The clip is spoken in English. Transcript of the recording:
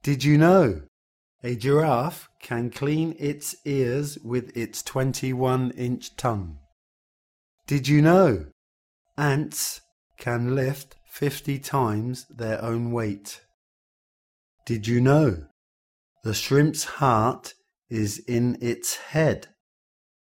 Did you know a giraffe can clean its ears with its 21-inch tongue? Did you know ants can lift 50 times their own weight? Did you know the shrimp's heart is in its head?